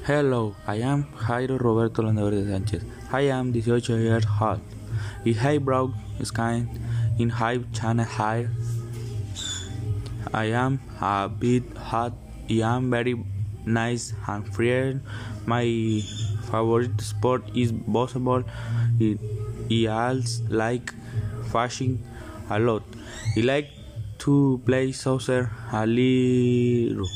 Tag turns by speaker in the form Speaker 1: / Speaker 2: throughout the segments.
Speaker 1: Hello, I am Jairo Roberto Landaverde Sánchez. I am 18 years old. I have brown skin in high channel hair. I am a bit hot. I am very nice and free. My favorite sport is basketball. I also like fishing a lot. I like to play soccer a little.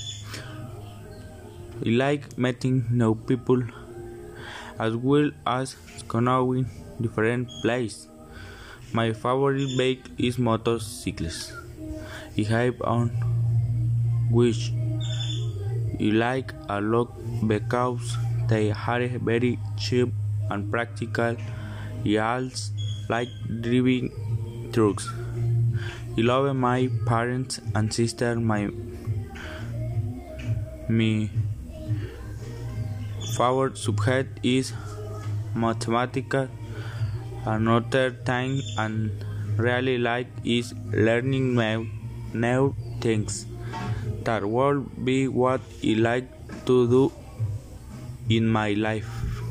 Speaker 1: I like meeting new people as well as knowing different places. My favorite bike is motorcycles. I have on which I like a lot because they are very cheap and practical. I also like driving trucks. I love my parents and sister. My favorite subject is mathematics. Another thing I really like is learning new things. That will be what I like to do in my life.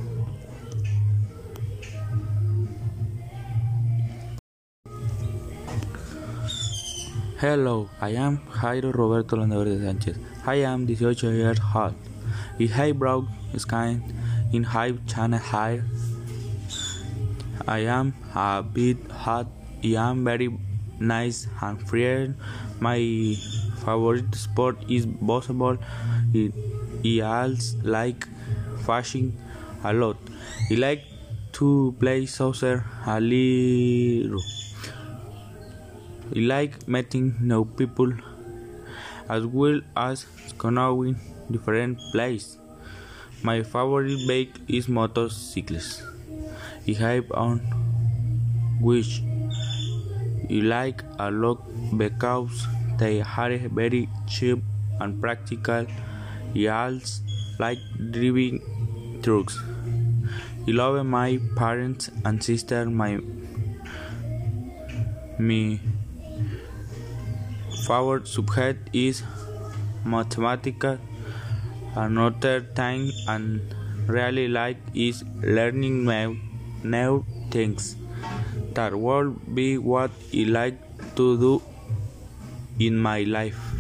Speaker 1: Hello, I am Jairo Roberto Landaverde Sánchez. I am 18 years old. I have brown skin in high channel hair. I am a bit hot. I am very nice and free. My favorite sport is basketball. I also like fishing a lot. I like to play soccer a little. I like meeting new people as well as knowing different places. My favorite bike is motorcycles. I have on which I like a lot because they are very cheap and practical. I also like driving trucks. I love my parents and sister. My favorite subject is mathematics. Another thing I really like is learning new things. That will be what I like to do in my life.